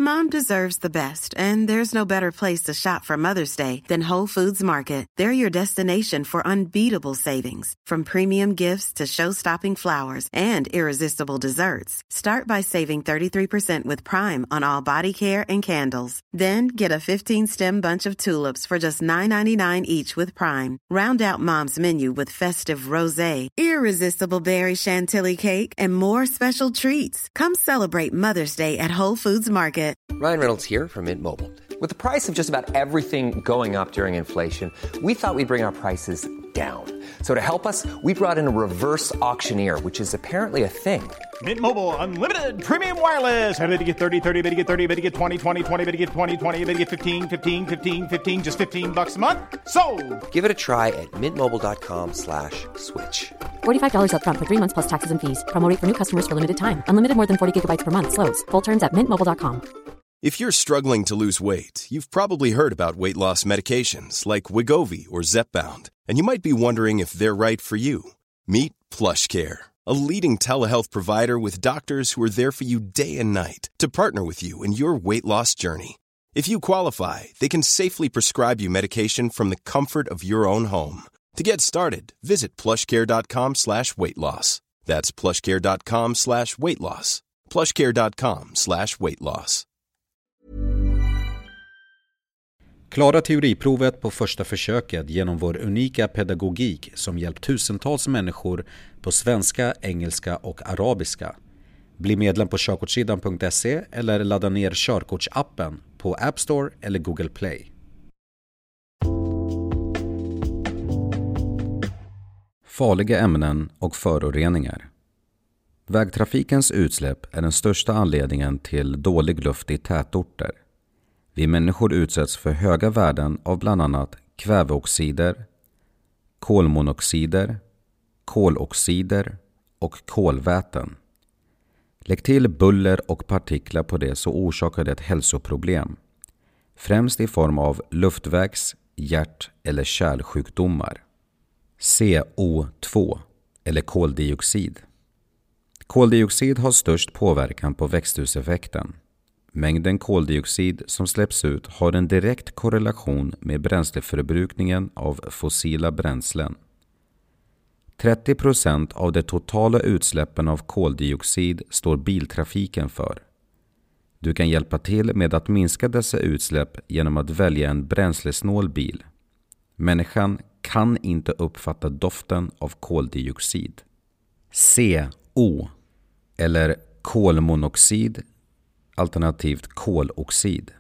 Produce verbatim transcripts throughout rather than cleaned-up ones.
Mom deserves the best, and there's no better place to shop for Mother's Day than Whole Foods Market. They're your destination for unbeatable savings, from premium gifts to show-stopping flowers and irresistible desserts. Start by saving thirty-three percent with Prime on all body care and candles. Then get a fifteen-stem bunch of tulips for just nine ninety-nine each with Prime. Round out Mom's menu with festive rosé, irresistible berry chantilly cake, and more special treats. Come celebrate Mother's Day at Whole Foods Market. Ryan Reynolds here from Mint Mobile. With the price of just about everything going up during inflation, we thought we'd bring our prices down. So to help us, we brought in a reverse auctioneer, which is apparently a thing. Mint Mobile Unlimited Premium Wireless. How to get thirty, thirty, how to get thirty, how to get twenty, twenty, twenty, how to get twenty, twenty, how to get fifteen, fifteen, fifteen, fifteen, just fifteen bucks a month? Sold! Give it a try at mintmobile.com slash switch. forty-five dollars up front for three months plus taxes and fees. Promo rate for new customers for limited time. Unlimited more than forty gigabytes per month. Slows full terms at mint mobile dot com. If you're struggling to lose weight, you've probably heard about weight loss medications like Wegovy or Zepbound, and you might be wondering if they're right for you. Meet PlushCare, a leading telehealth provider with doctors who are there for you day and night to partner with you in your weight loss journey. If you qualify, they can safely prescribe you medication from the comfort of your own home. To get started, visit plushcare.com slash weight loss. That's plushcare.com slash weight loss. plushcare.com slash weight loss. Klara teoriprovet på första försöket genom vår unika pedagogik som hjälpt tusentals människor på svenska, engelska och arabiska. Bli medlem på körkortssidan punkt se eller ladda ner körkortsappen på App Store eller Google Play. Farliga ämnen och föroreningar. Vägtrafikens utsläpp är den största anledningen till dålig luft i tätorter. Vi människor utsätts för höga värden av bland annat kväveoxider, kolmonoxider, koloxider och kolväten. Lägg till buller och partiklar på det så orsakar det ett hälsoproblem, främst i form av luftvägs-, hjärt- eller kärlsjukdomar. C O två eller koldioxid. Koldioxid har störst påverkan på växthuseffekten. Mängden koldioxid som släpps ut har en direkt korrelation med bränsleförbrukningen av fossila bränslen. trettio procent av de totala utsläppen av koldioxid står biltrafiken för. Du kan hjälpa till med att minska dessa utsläpp genom att välja en bränslesnål bil. Människan kan inte uppfatta doften av koldioxid. C O eller kolmonoxid alternativt koloxid.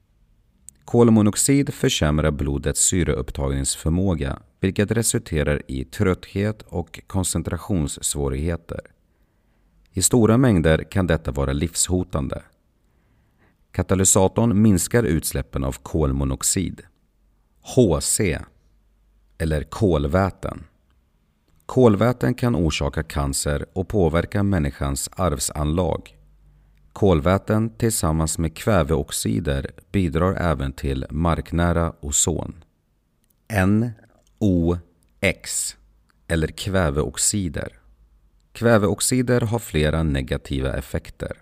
Kolmonoxid försämrar blodets syreupptagningsförmåga, vilket resulterar i trötthet och koncentrationssvårigheter. I stora mängder kan detta vara livshotande. Katalysatorn minskar utsläppen av kolmonoxid. H C eller kolväten. Kolväten kan orsaka cancer och påverka människans arvsanlag. Kolväten tillsammans med kväveoxider bidrar även till marknära ozon. N O X eller kväveoxider. Kväveoxider har flera negativa effekter.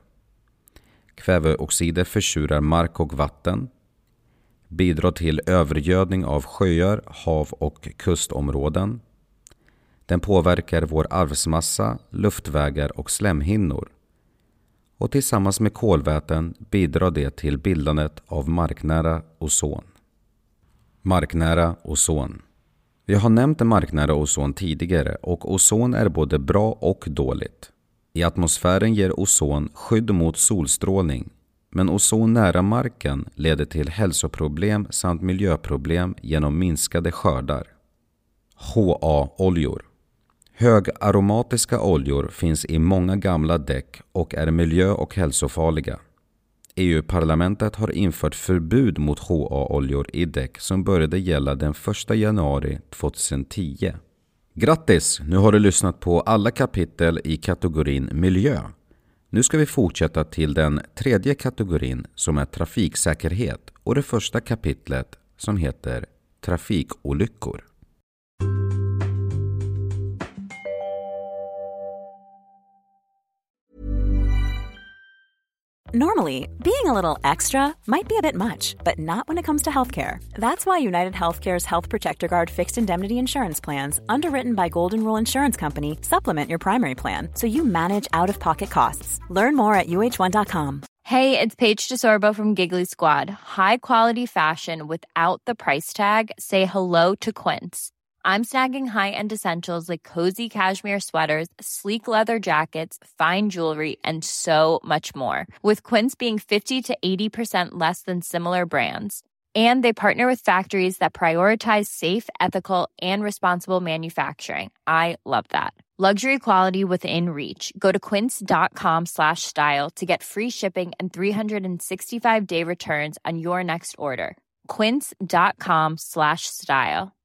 Kväveoxider försurar mark och vatten, bidrar till övergödning av sjöar, hav och kustområden. Den påverkar vår arvsmassa, luftvägar och slemhinnor. Och tillsammans med kolväten bidrar det till bildandet av marknära ozon. Marknära ozon. Vi har nämnt marknära ozon tidigare och ozon är både bra och dåligt. I atmosfären ger ozon skydd mot solstrålning, men ozon nära marken leder till hälsoproblem samt miljöproblem genom minskade skördar. H A-oljor. Högaromatiska oljor finns i många gamla däck och är miljö- och hälsofarliga. E U-parlamentet har infört förbud mot H A-oljor i däck som började gälla den första januari tjugohundratio. Grattis! Nu har du lyssnat på alla kapitel i kategorin miljö. Nu ska vi fortsätta till den tredje kategorin som är trafiksäkerhet och det första kapitlet som heter trafikolyckor. Normally, being a little extra might be a bit much, but not when it comes to healthcare. That's why United Healthcare's Health Protector Guard fixed indemnity insurance plans, underwritten by Golden Rule Insurance Company, supplement your primary plan so you manage out-of-pocket costs. Learn more at U H one dot com. Hey, it's Paige DeSorbo from Giggly Squad. High quality fashion without the price tag. Say hello to Quince. I'm snagging high-end essentials like cozy cashmere sweaters, sleek leather jackets, fine jewelry, and so much more. With Quince being fifty to eighty percent less than similar brands. And they partner with factories that prioritize safe, ethical, and responsible manufacturing. I love that. Luxury quality within reach. Go to quince.com slash style to get free shipping and three sixty-five day returns on your next order. Quince.com slash style.